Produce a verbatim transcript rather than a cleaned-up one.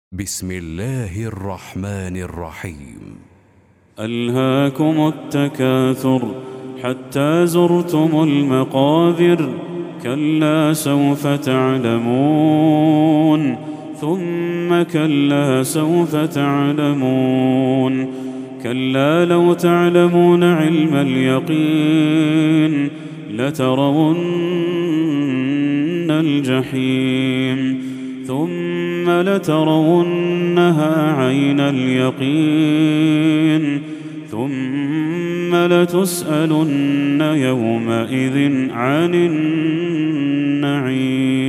بسم الله الرحمن الرحيم. ألهاكم التكاثر حتى زرتم المقابر، كلا سوف تعلمون ثم كلا سوف تعلمون، كلا لو تعلمون علم اليقين لترون الجحيم ثم لترونها عين اليقين ثم لتسألن يومئذ عن النعيم.